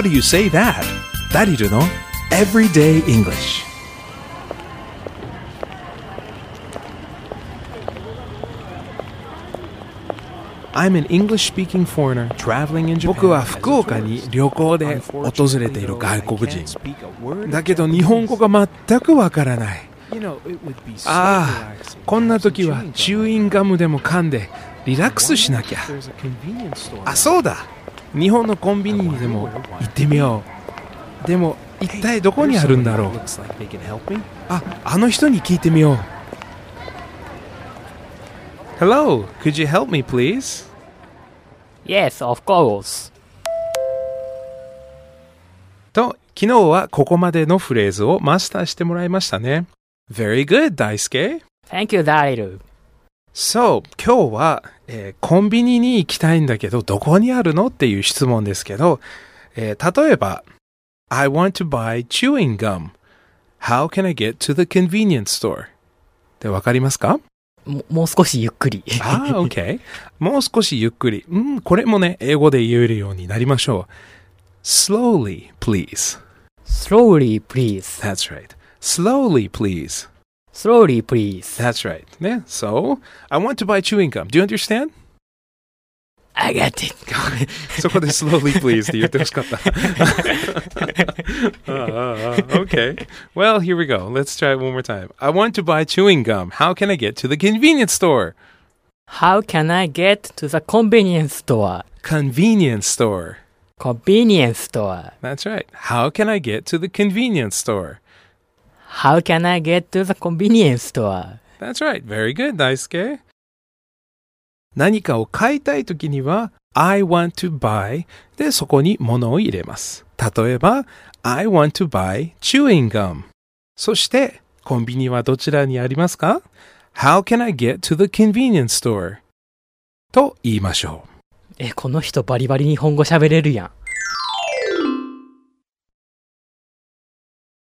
How do you say that? ダリルの Everyday English。I'm an English-speaking foreigner traveling in Japan. 僕は福岡に旅行で訪れている外国人。だけど日本語が全くわからない。ああ、こんな時はチューインガムでも噛んでリラックスしなきゃ。あ、そうだ。日本のコンビニにでも行ってみよう。でも一体どこにあるんだろう。あの人に聞いてみよう。Hello, could you help me, please? Yes, of course. と、昨日はここまでのフレーズをマスターしてもらいましたね。Very good, 大輔。 Thank you, Daryl. So, 今日は、コンビニに行きたいんだけど、どこにあるのっていう質問ですけど、例えば、I want to buy chewing gum. How can I get to the convenience store? ってわかりますか？ もう少しゆっくり。 OK。もう少しゆっくり。これもね、英語で言えるようになりましょう。Slowly, please. Slowly, please. That's right. Slowly, please. Slowly, please. That's right. ね。So, I want to buy chewing gum. Do you understand? I got it. そこで slowly, please って言ってほしかった。Okay. Well, here we go. Let's try it one more time. I want to buy chewing gum. How can I get to the convenience store? How can I get to the convenience store? Convenience store. Convenience store. That's right. How can I get to the convenience store? How can I get to the convenience store? That's right. Very good, 大輔。何かを買いたいときには I want to buy でそこに物を入れます。例えば I want to buy chewing gum。そしてコンビニはどちらにありますか？ How can I get to the convenience store? と言いましょう。 この人バリバリ日本語喋れるやん。